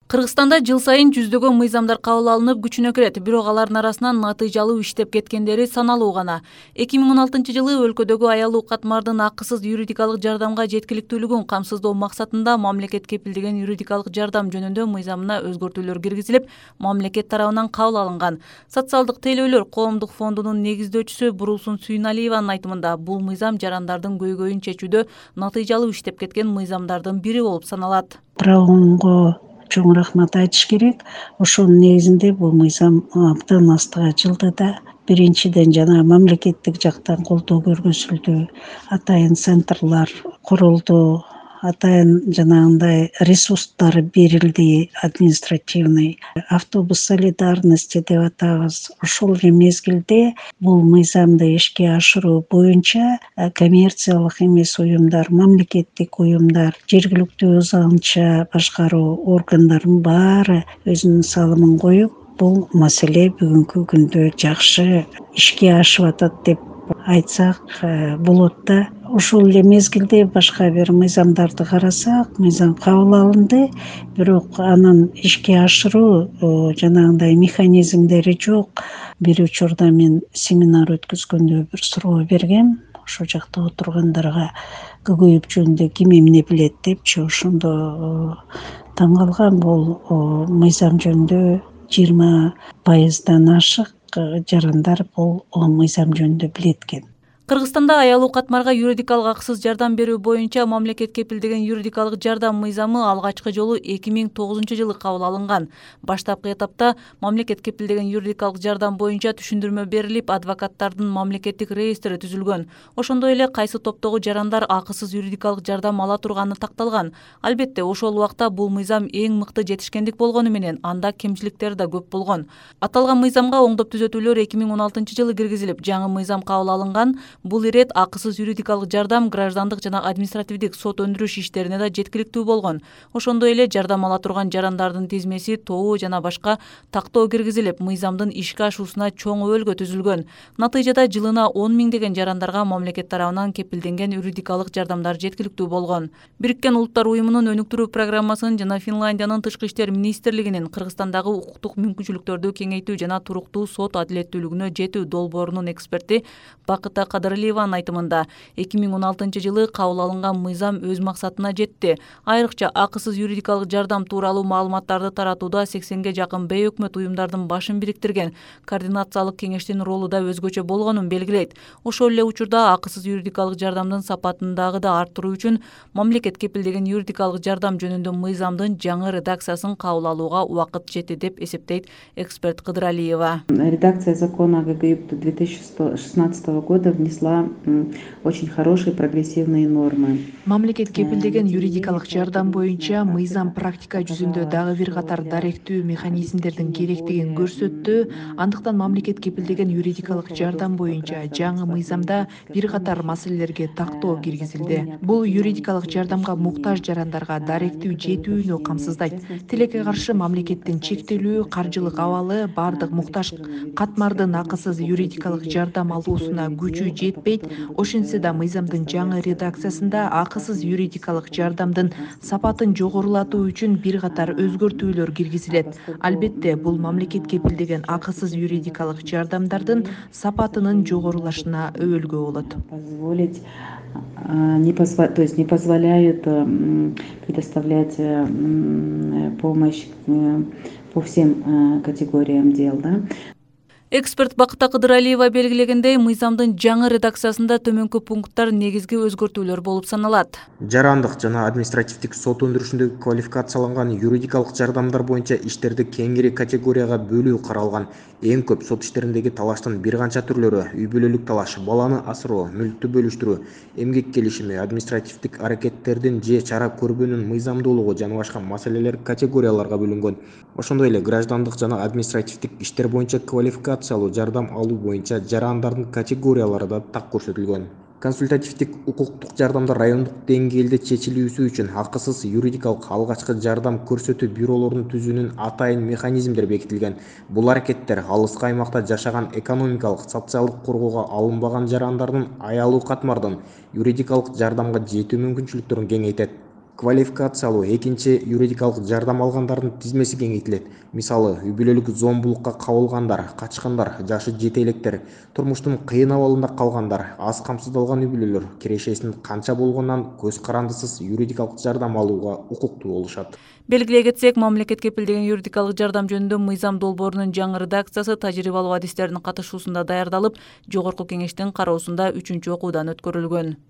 Кыргызстанда жыл сайын жүздөгөн мыйзамдар кабыл алынып күчүнө кирет, бирок алардын арасынан натыйжалуу иштеп кеткендери саналуу гана. 2016 жылы өлкөдөгү аялуу катмардын акысыз юридикалык жардамга жеткиликтүүлүгүн камсыздоо максатында мамлекет кепилдеген юридикалык жардам жөнүндө мыйзамына өзгөртүүлөр киргизилип, мамлекет тарабынан кабыл алынган. Социалдык тейлөөлөр коомдук фондунун негиздөөчүсү Бурулсун Сүйүналиеванын айтымында, бул мыйзам жарандардын көйгөйүн чечүүдө натыйжалуу иштеп кеткен мыйзамдардын бири болуп саналат. Правонго чоң рахмат айтыш керек. Ошонун негизинде бул мыйзам абдан астыга жылды да. Биринчиден жана мамлекеттик жактан колдоо көргөзүлдү. Атайын центрлар курулду. Атайын жанагындай ресурстар берилди, административный. Автобус солидарности деп атабыз. Ошол эле мезгилде бул мыйзамды ишке ашыруу боюнча коммерциялык эмес уюмдар, мамлекеттик уюмдар, жергиликтүү өз алынча башкаруу органдарынын баары өзүнүн салымын коюп, бул маселе бүгүнкү күндө жакшы ишке ашып атат деп айтсак болот да. Ошол эле мезгилде башка бир мыйзамдарды карасак, мыйзам кабыл алынды, бирок анын ишке ашыруу жанагындай механизмдери жок. Бир учурда мен семинар өткөзгөндө бир суроо бергем. Ошол жакта отургандарга көйгөй жөнүндө ким эмне билет депчи, ошондо таң калгам. Бул мыйзам жөнүндө 20% ашык жарандар бул мыйзам жөнүндө билет экен. Кыргызстанда аялуу катмарга юридикалык акысыз жардам берүү боюнча мамлекет кепилдеген юридикалык жардам мыйзамы алгачкы жолу 2009-жылы кабыл алынган. Баштапкы этапта мамлекет кепилдеген юридикалык жардам боюнча түшүндүрмө берилип, адвокаттардын мамлекеттик реестри түзүлгөн. Ошондой эле кайсы топтогу жарандар акысыз юридикалык жардам ала турганы такталган. Албетте, ошол убакта бул мыйзам эң мыкты жетишкендик болгону менен анда кемчиликтери да көп болгон. Аталган мыйзамга оңдоп түзөтүүлөр 2016-жылы киргизилип, жаңы мыйзам кабыл алынган. Бул ирет акысыз юридикалык жардам граждандык жана административдик сот өндүрүш иштерине да жеткиликтүү болгон. Ошондой эле жардам ала турган жарандардын тизмеси, тобу жана башка тактоо киргизилип, мыйзамдын ишке ашуусуна чоң өбөлгө түзүлгөн. Натыйжада жылына 10 миңдеген жарандарга мамлекет тарабынан кепилденген юридикалык жардамдар жеткиликтүү болгон. Бириккен Улуттар уюмунун өнүктүрүү программасынын жана Финляндиянын тышкы иштер министрлигинин Кыргызстандагы укуктук мүмкүнчүлүктөрдү кеңейтүү жана туруктуу сот адилеттүүлүгүнө жетүү долбоорунун эксперти Бакыта Кадыралиеванын айтымында, 2016-жылы кабыл алынган мыйзам өз максатына жетти. Айрыкча акысыз юридикалык жардам тууралуу маалыматтарды таратууда 80-ге жакын бейөкмөт уюмдардын башын бириктирген координациялык кеңештин ролу да өзгөчө болгонун белгилейт. Ошол эле учурда акысыз юридикалык жардамдын сапатын дагы да арттыруу үчүн мамлекет кепилдеген юридикалык жардам жөнүндө мыйзамдын жаңы редакциясын кабыл алууга убакыт жетти деп эсептейт эксперт Кыдыралиева. Редакция закона ГГИП 2016 года внесла очень хорошие прогрессивные нормы. Мамлекет кепилдеген юридикалык жардам боюнча мыйзам практика жүзүндө дагы бир катар даректүү механизмдердин керектигин көрсөттү. Андыктан мамлекет кепилдеген юридикалык жардам боюнча жаңы мыйзамда бир катар маселелерге тактоо киргизилди. Бул юридикалык жардамга муктаж жарандарга даректүү жетүүнү камсыздайт. Тилекке каршы мамлекеттин чектелүү каржылык абалы бардык муктаж катмардын акысыз юридикалык жардам алуусуна күчү жетпейт. Ошентсе да мыйзамдын жаңы редакциясында акысыз юридикалык жардамдын сапатын жогорулатуу үчүн бир катар өзгөртүүлөр киргизилет. Албетте, бул мамлекет кепилдеген акысыз юридикалык жардамдардын сапатынын жогорулашына өбөлгө болот. То есть не позволяют предоставлять помощь по всем категориям дел, да? Эксперт Бакыта Кыдыралиева белгилегендей, мыйзамдын жаңы редакциясында төмөнкү пункттар негизги өзгөртүүлөр болуп саналат. Жарандык жана административдик сот өндүрүшүндөгү квалификацияланган юридикалык жардамдар боюнча иштерди кеңири категорияга бөлүү каралган. Эң көп сот иштериндеги талаштын бир канча түрлөрү: үй бүлөлүк талаш, баланы асыроо, мүлктү бөлүштүрүү, эмгек келишими, административдик аракеттердин же чара көрбөнүн мыйзамдуулугу жана башка маселелер категорияларга бөлүнгөн. Ошондой эле граждандык жана административдик иштер боюнча квалификациялуу жардам алуу боюнча жарандардын категориялары да так көрсөтүлгөн. Консультативдик укуктук жардамдар райондук деңгээлде чечилүүсү үчүн акысыз юридикалык алгачкы жардам көрсөтүү бюролорун түзүүнүн атайын механизмдери бекитилген. Бул аракеттер алыскы аймакта жашаган экономикалык, социалдык коргоого алынбаган жарандардын аялуу катмардын юридикалык жардамга жетүү мүмкүнчүлүктөрүн кеңейтет. квалификациялуу экинчи юридикалык жардам алгандардын тизмеси кеңейтилет. Мисалы, үй бүлөлүк зомбулукка кабылгандар, качкандар, жашы жете электер, турмуштун кыйын абалында калгандар, аз камсыздалган үй бүлөлөр кирешесинин канча болгонунан көз карандысыз юридикалык жардам алууга укуктуу болушат. Белгилей кетсек, мамлекет кепилдеген юридикалык жардам жөнүндө мыйзам долбоорунун жаңы редакциясы тажрыйбалуу адистердин катышуусунда даярдалып, жогорку кеңештин кароосунда 3-окуудан өткөрүлгөн.